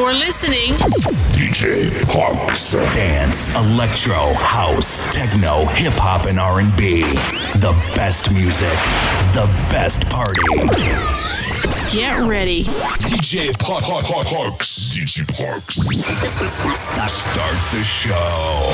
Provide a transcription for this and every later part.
You're listening. DJ Parks. Dance, electro, house, techno, hip hop, and R&B. The best music, the best party. Get ready. DJ Parks. DJ Parks. Start the show.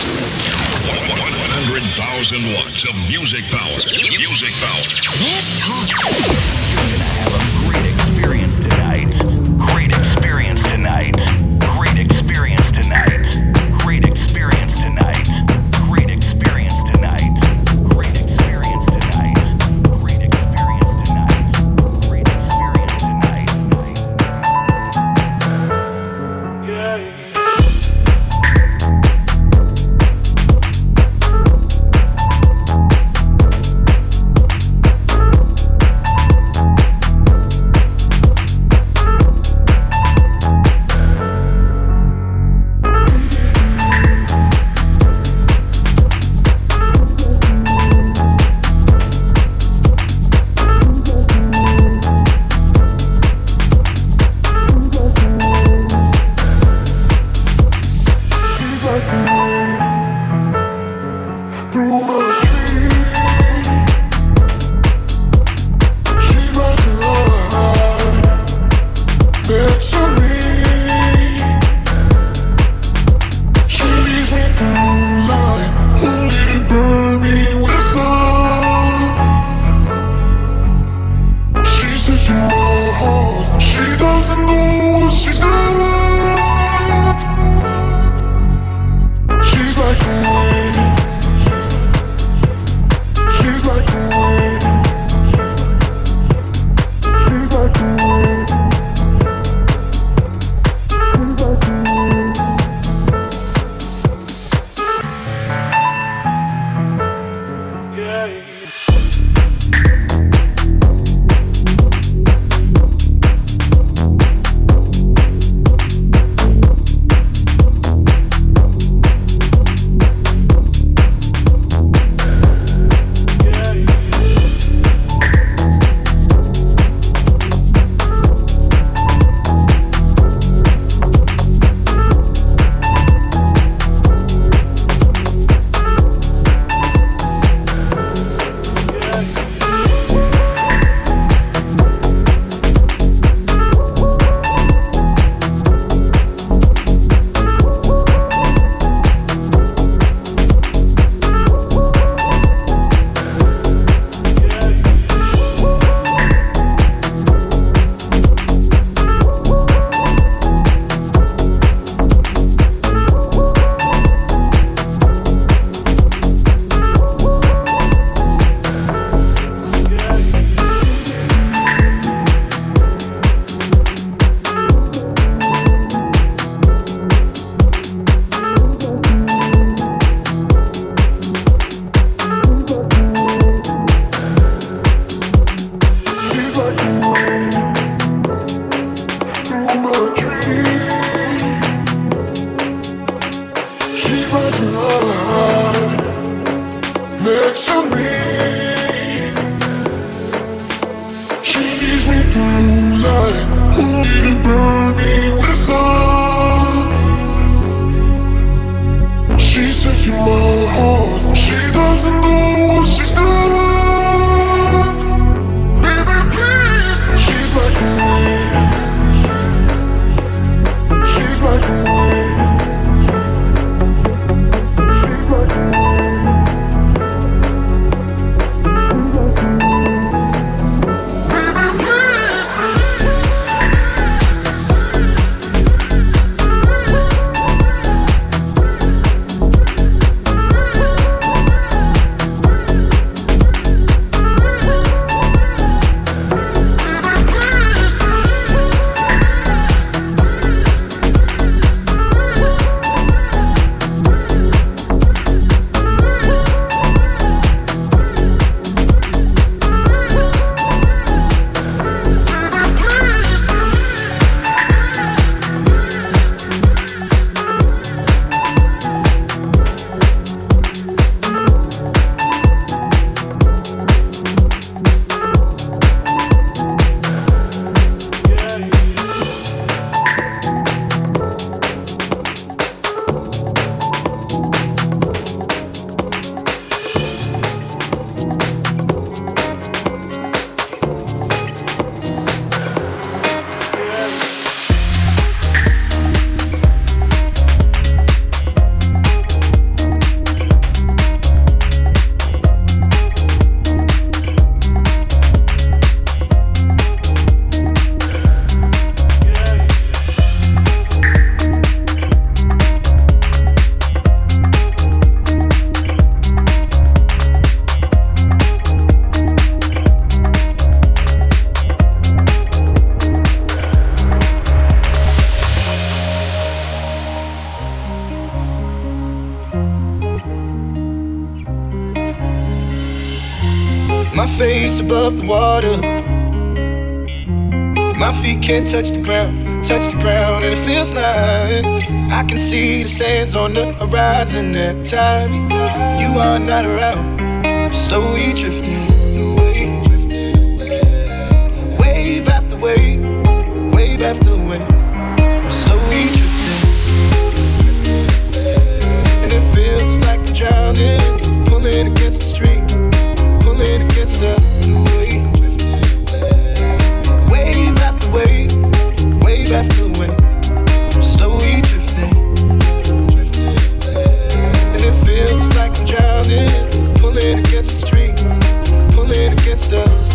100,000 watts of music power. Music power. Let's talk. You're gonna have a great experience tonight. Great experience tonight. Great experience tonight. Great experience tonight. Great experience tonight. Great experience tonight. Great experience tonight. Great experience tonight. Yeah. face above the water. My feet can't touch the ground, and it feels like I can see the sands on the horizon every time you are not around. Slowly drifting away, wave after wave, wave after wave. Slowly drifting, and it feels like I'm drowning, pulling against the stream, pulling against the wave. Wave after wave, wave after wave. I'm slowly drifting, and it feels like I'm drowning, pulling against the stream, pulling against us.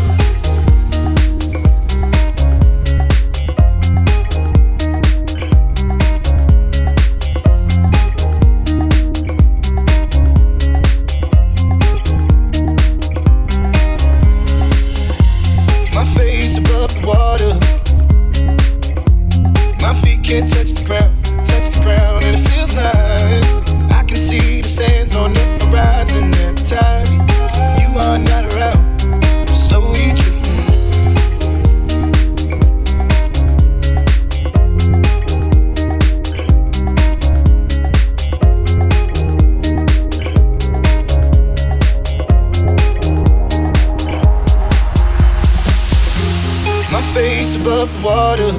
My face above the water. My feet can't touch the ground, and it feels like I can see the sands on the horizon every time you are not around. I'm slowly drifting, my face above the water.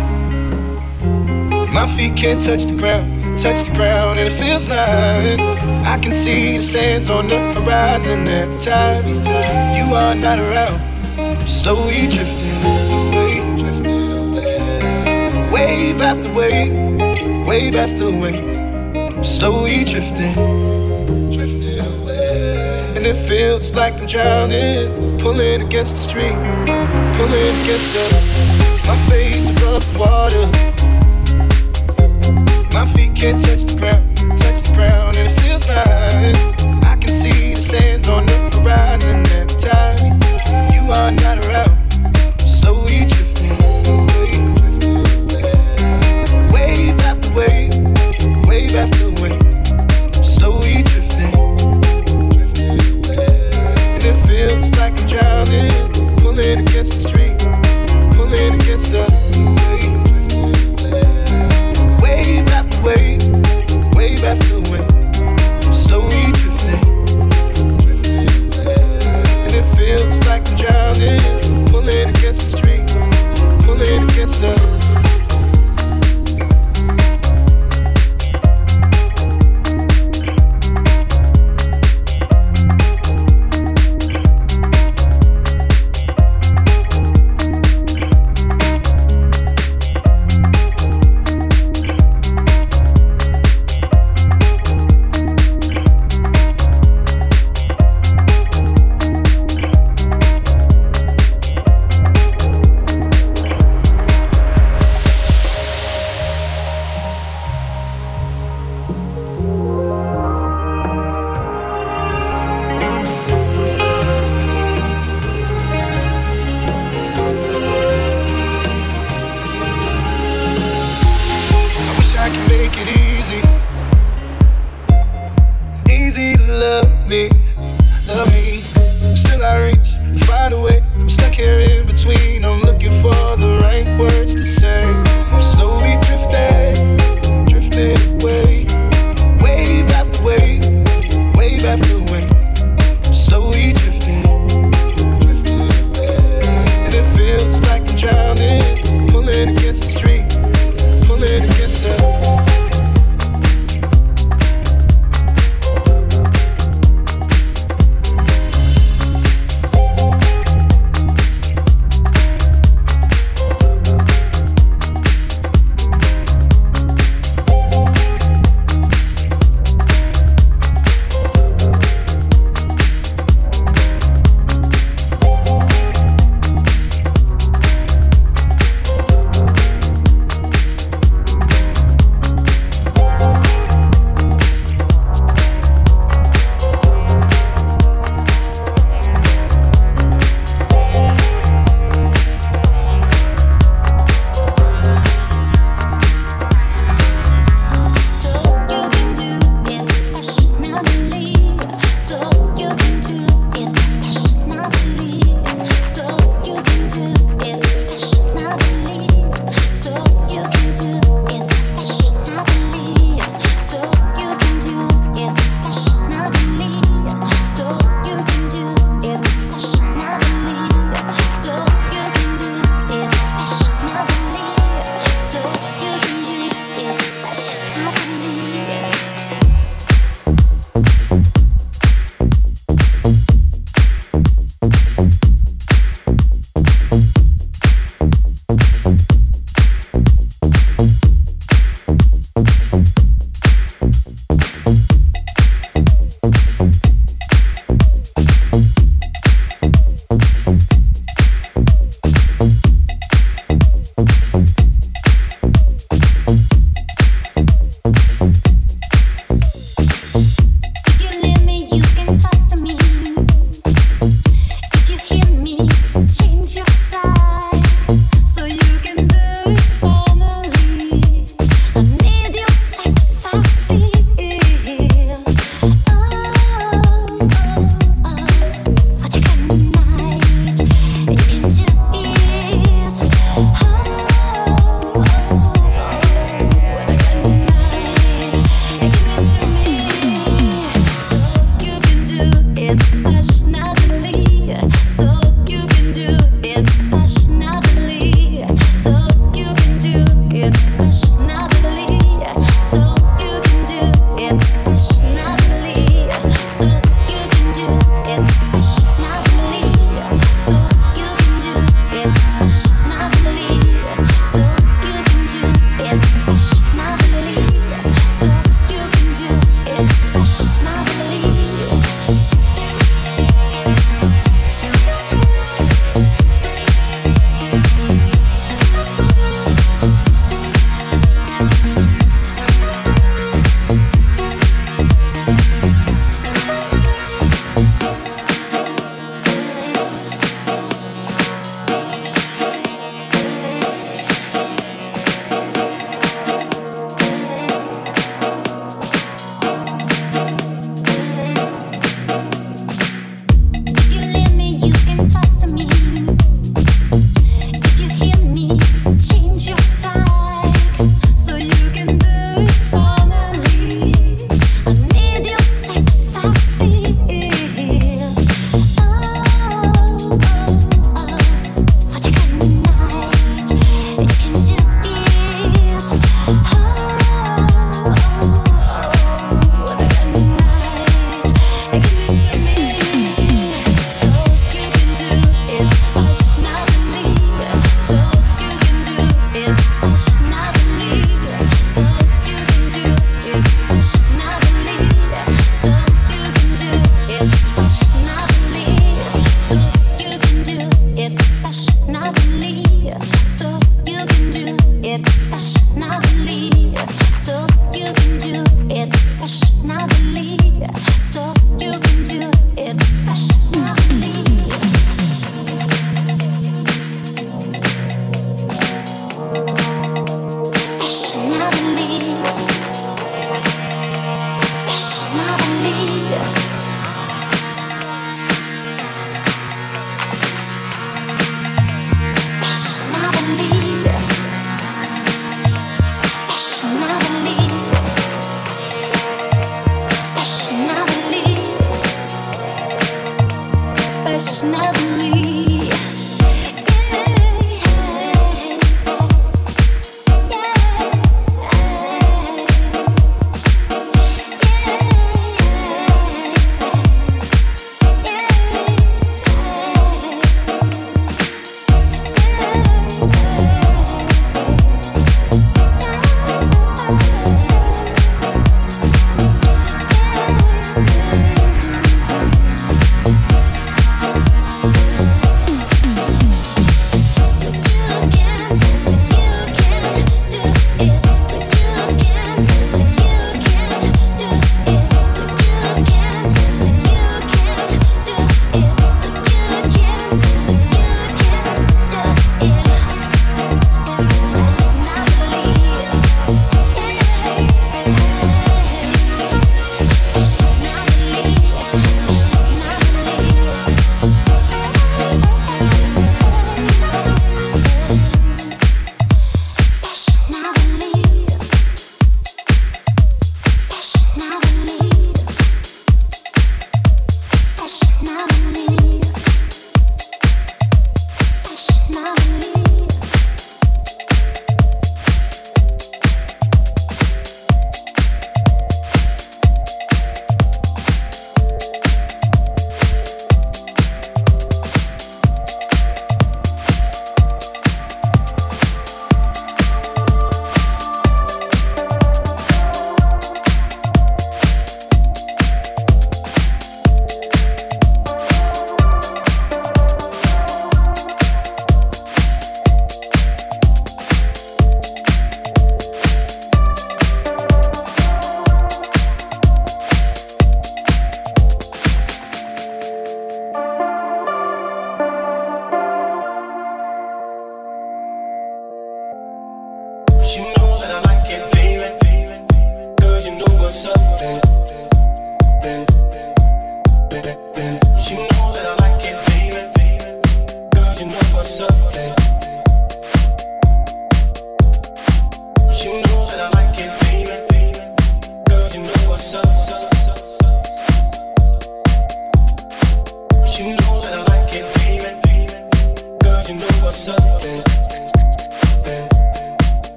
My feet can't touch the ground, and it feels like I can see the sands on the horizon every time you are not around. I'm slowly drifting away, wave after wave, wave after wave. I'm slowly drifting away, and it feels like I'm drowning, pulling against the stream, pulling against my face above the water. My feet can't touch the ground, and it feels like I can see the sands on the horizon every time you are not around. I'm slowly drifting away, wave after wave, wave after wave. I'm slowly drifting, and it feels like I'm drowning, pulling against the stream, pulling against the wave.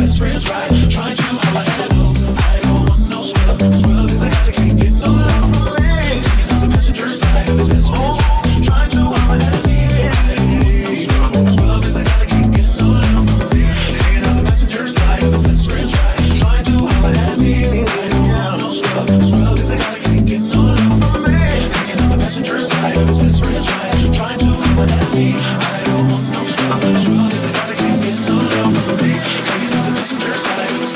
best friends right. Trying to holler at home. I don't want no scrub. Scrub is a guy that can't get no love from me. Hanging out the passenger side of his best friends right. Trying to holler at me. I don't want no scrub. Scrub is a guy that can't get no love from me. Hanging out the passenger side of his best friends right. Trying to holler at me. I don't want no scrub. Scrub is a guy that can't get no love from me. Hanging out the passenger side of his best friends right. Trying to holler at me. I don't want no scrub. Scrub is a guy that can't get no love from me. Hanging out the passenger side of his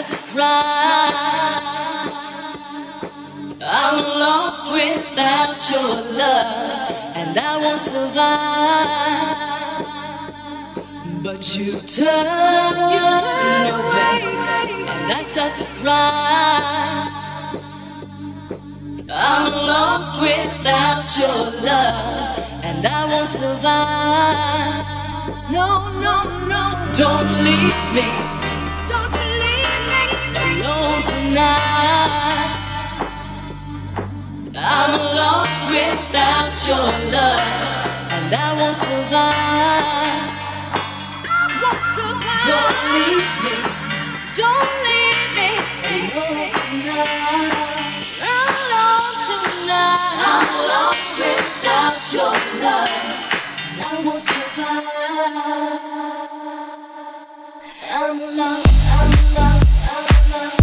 start to cry. I'm lost without your love, and I won't survive. But you turn away, and I start to cry. I'm lost without your love, and I won't survive. No, no, no, don't leave me. Don't you leave me alone tonight. I'm lost without your love, and I won't survive. I won't survive. Don't leave me. Don't leave me alone tonight. Alone tonight. I'm lost without your love, and I won't survive. I'm lost. I'm lost. I'm lost.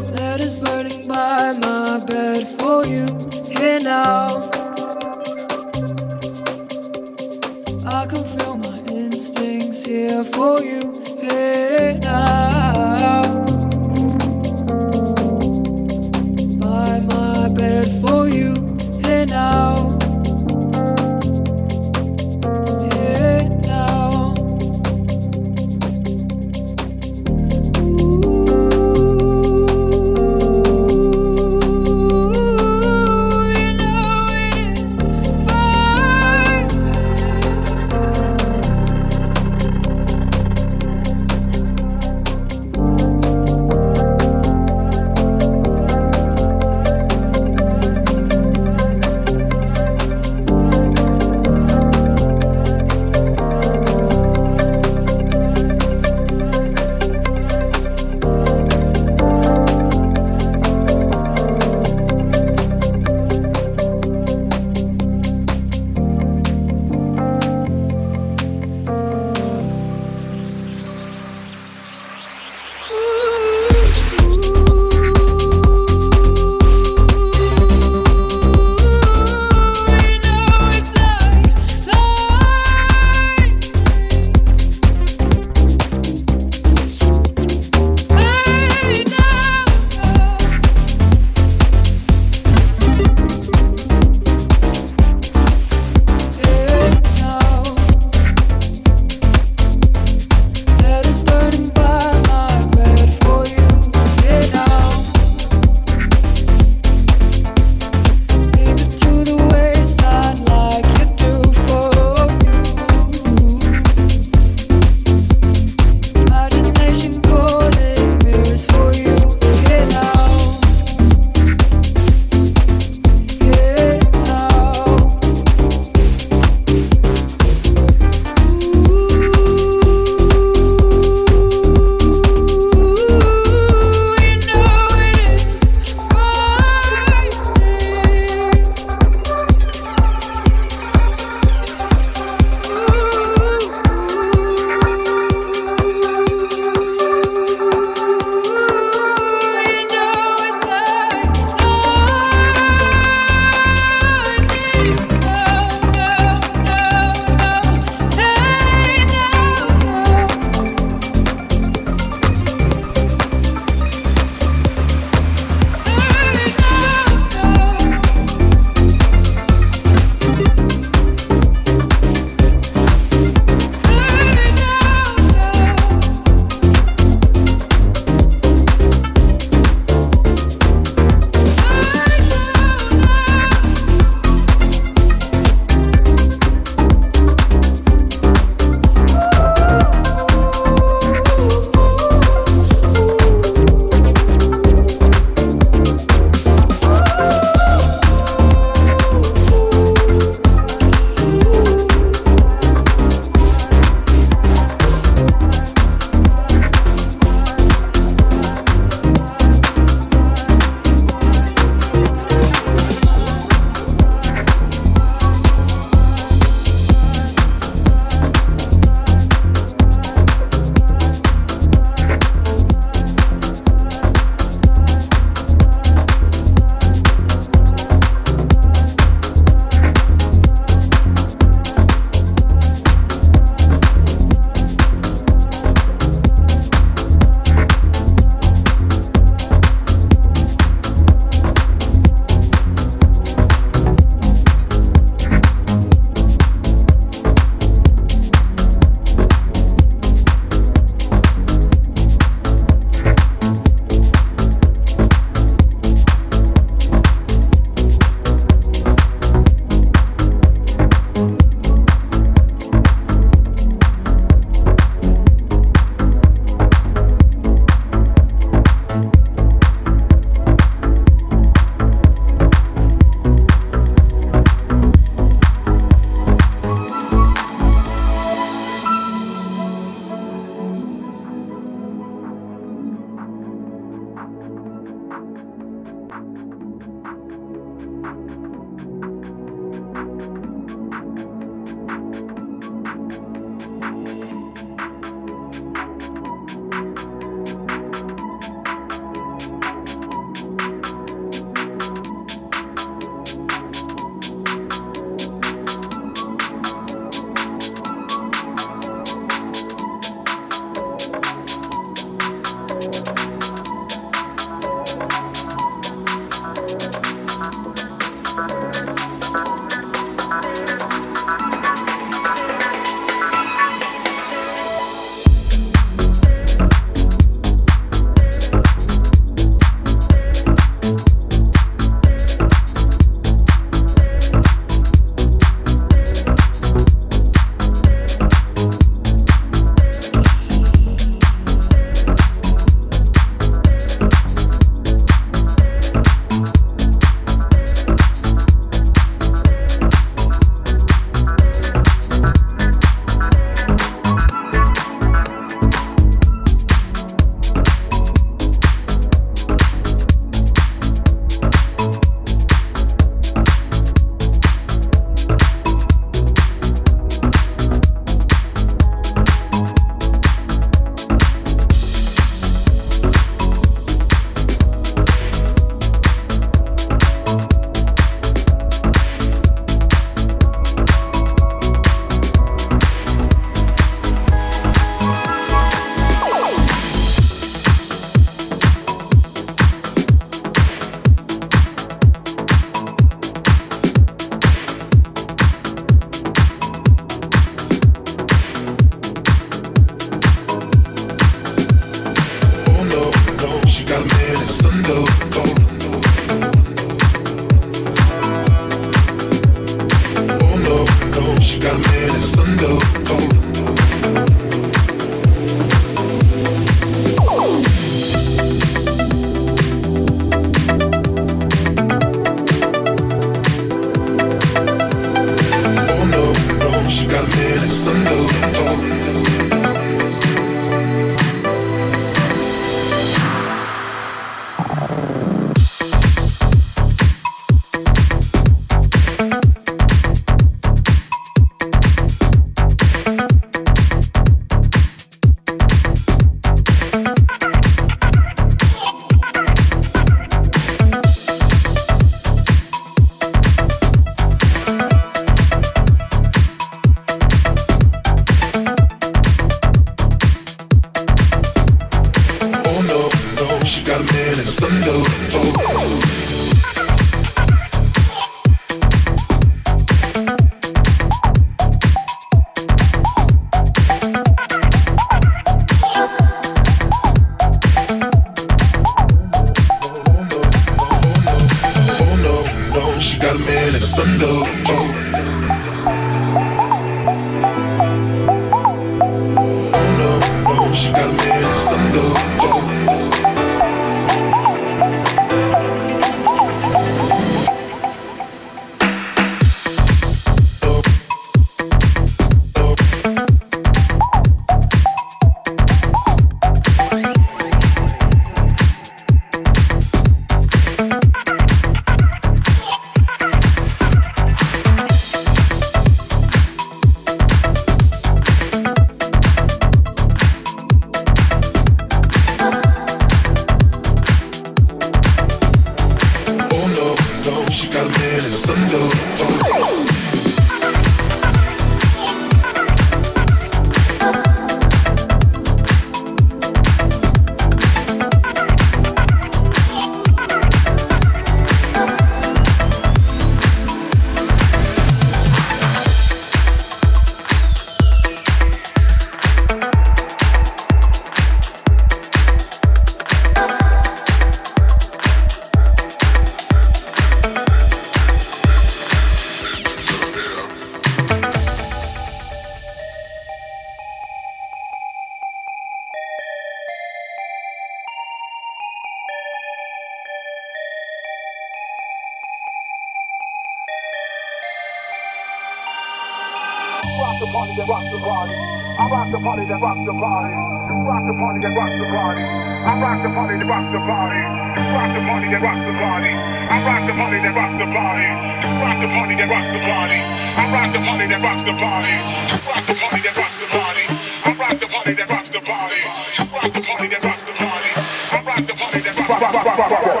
rock the party that rocks the party. I rock the party that rocks the party. You rock the party that rocks the party. I rock the party that rocks the party. You rock the party that rocks the party. I rock the party that rocks the party. You rock the party that rocks the party. I rock the party that rocks the party. You rock the party that rocks the party. I rock the party that rocks the party. You rock the party that rocks the party. I rock the party that rocks the party.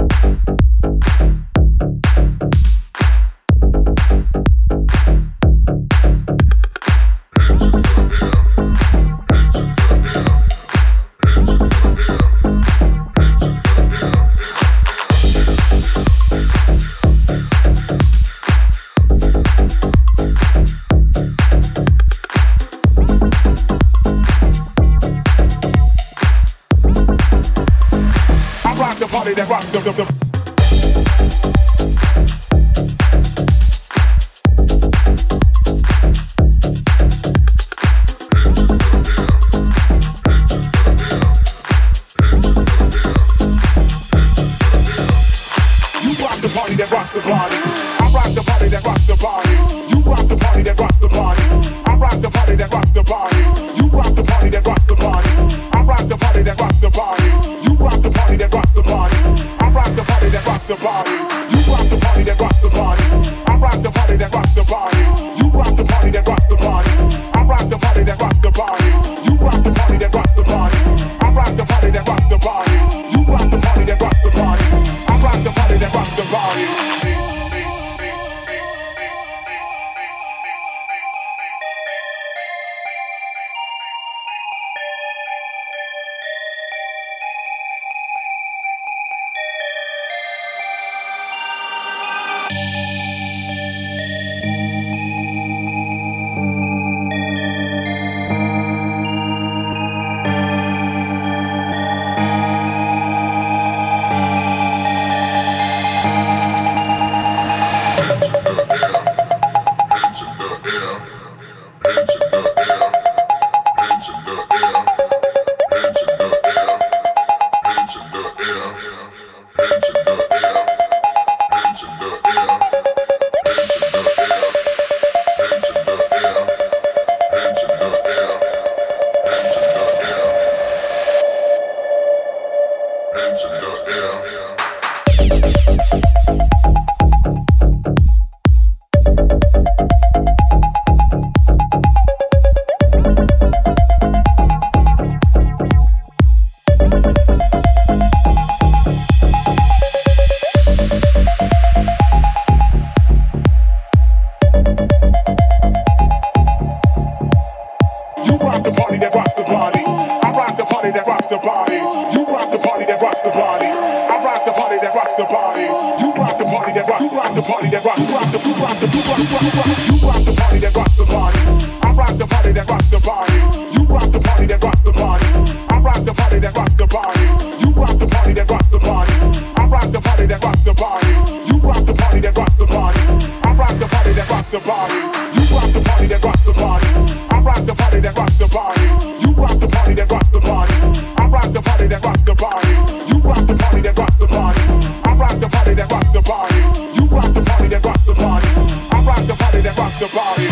That rocks the You rock the party that rocks the party. I rock the party that rocks the party. You rock the party that rocks the party. I rock the party that rocks the party. You rock the party that rocks the party. I rock the party that rocks the party. You rock the party that rocks the party. I rock the party that rocks the party. You rock the party that rocks the party. I rock the party that rocks the party. You rock the party that rocks the party. I rock the party that rocks the party. You rock the party that rocks the party. I rock the party that rocks the party. You rock the party that rocks the party. I rock the party that rocks the party. rocks the body. You rock the party that rock. You rock the party that rock. You rock the. You rock the. You rock the party that rocks the body. I rock the party that rocks the body. You rock the party that rocks the body. I rock the party that rocks the body. You rock the party that rocks the body. I rock the party that rocks the body. You rock the party that rocks the body. I rock the party that rocks the body. You rock the party that rocks the body. I rock the party that rocks the body. You rock the party that rocks the body. I rock the party that rocks the body. You rock the party that rocks the body. I rock the party that rocks the body. You rock the party that rocks the body. I rock the party that rocks the body.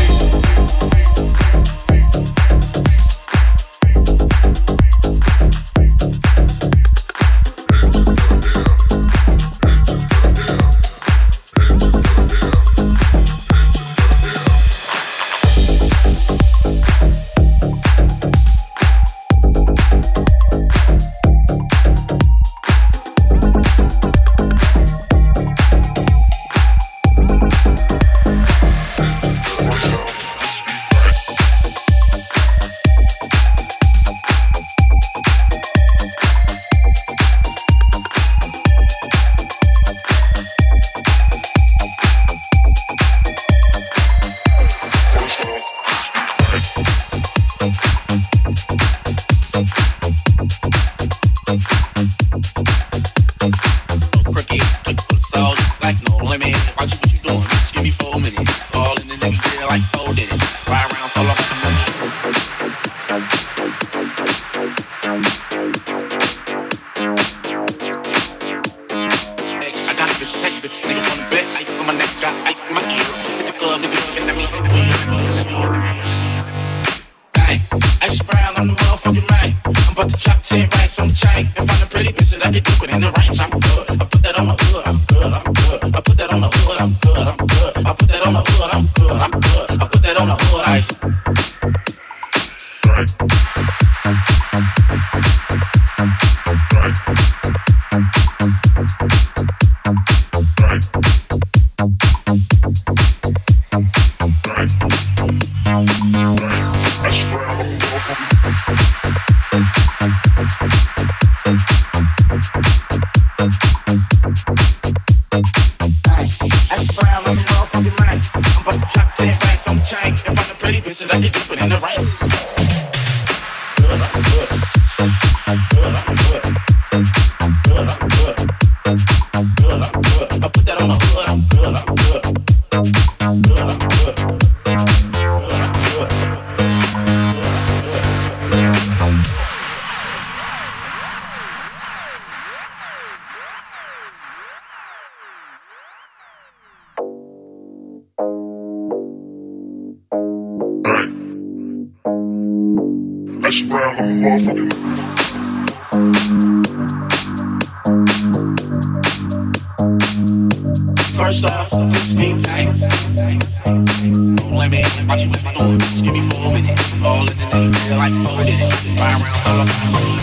First off, this beat tight. Don't let me watch you what you doing. Just give me 4 minutes. It's all in the name, feel like 4 minutes. 5 rounds all about me.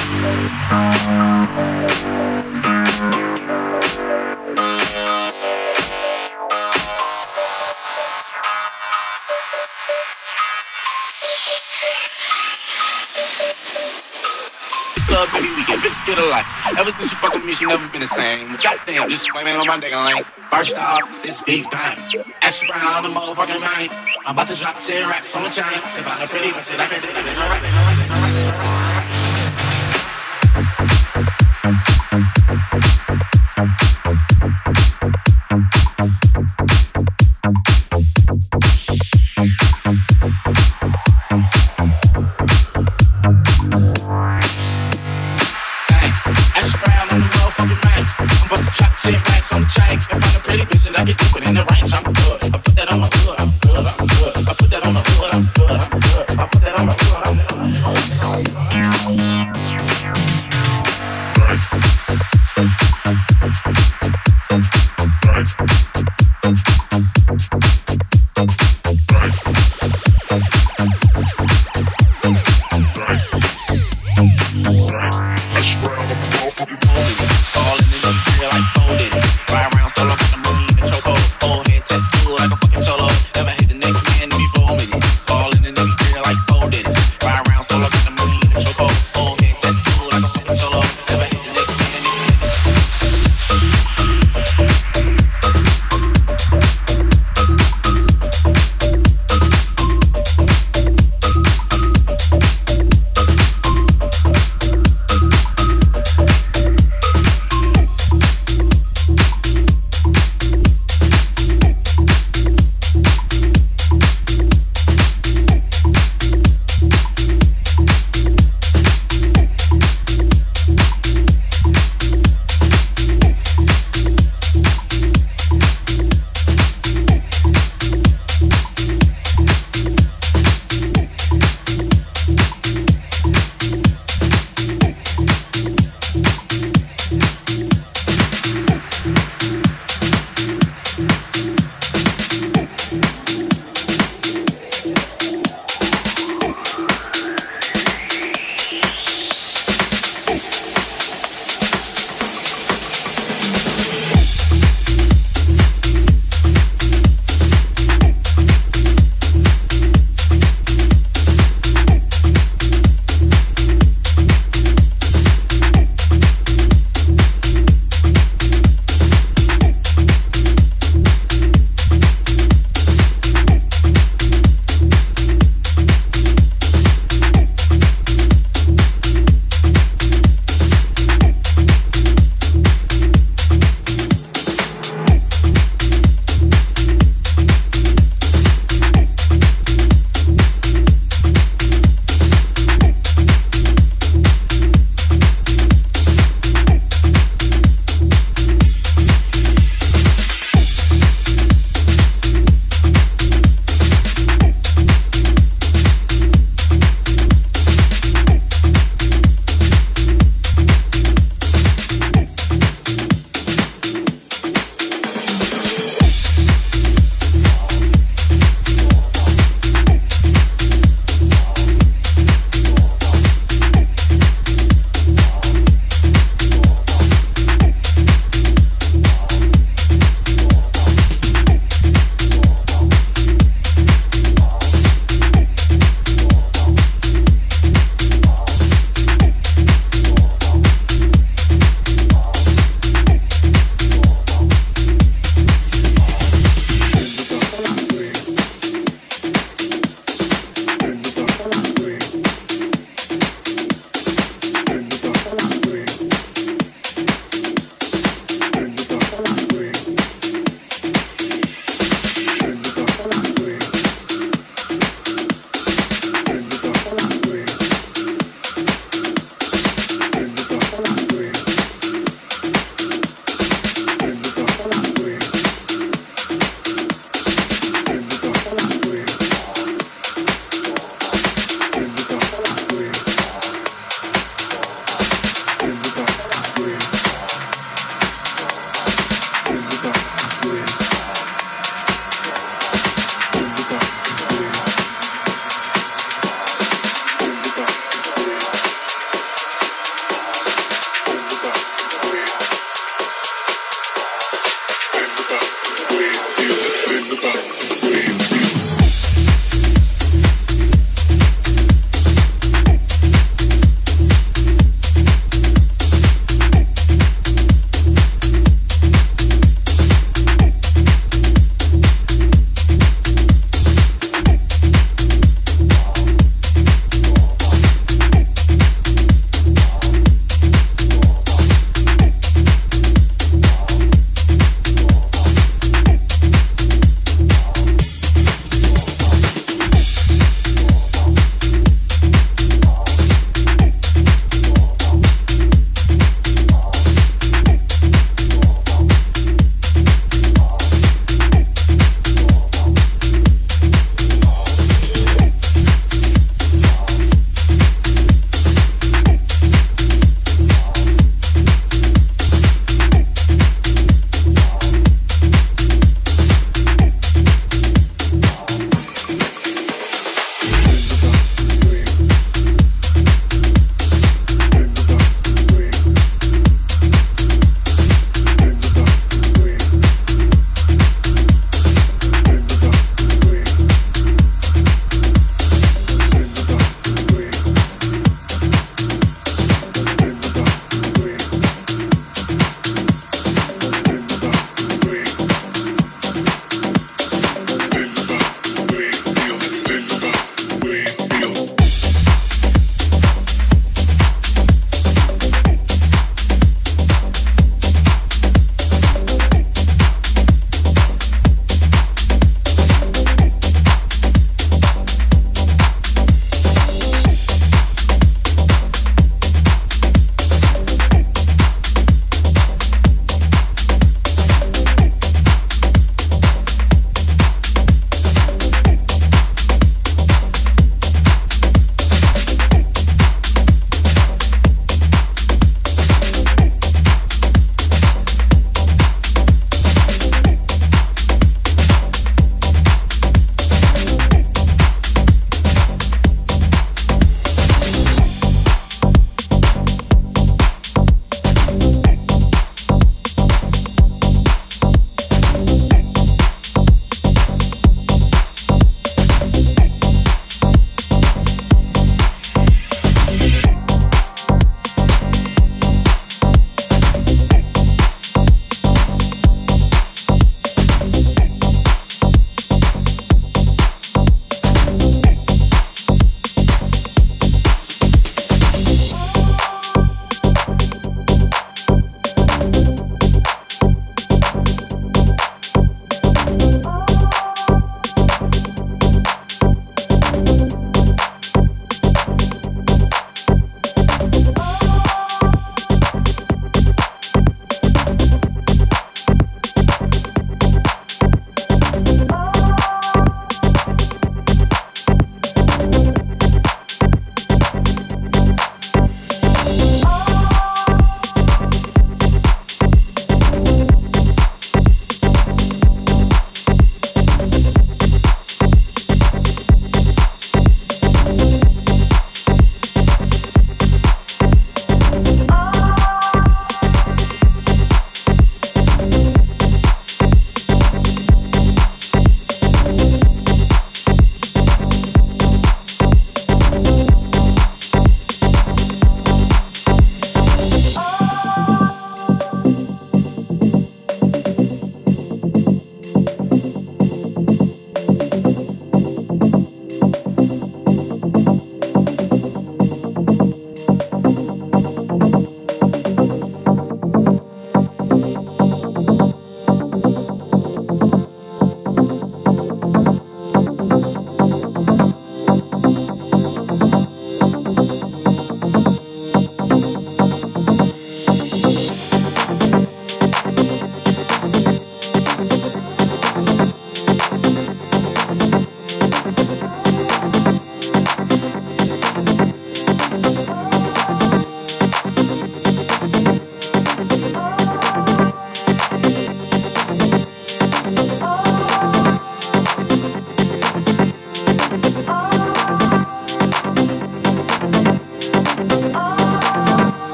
Club, baby, we get bitch get a life. Ever since she fuck with me, she never been the same. Goddamn, just blaming on my nigga lane. First off, this big bang. Ash Brown, the motherfucking man. I'm about to drop 10 racks on the chain. If I'm a pretty bitch, I can do it. I'm about to drop 10 racks on the chain. If I'm a pretty bitch, I can do it in the range. I'm good.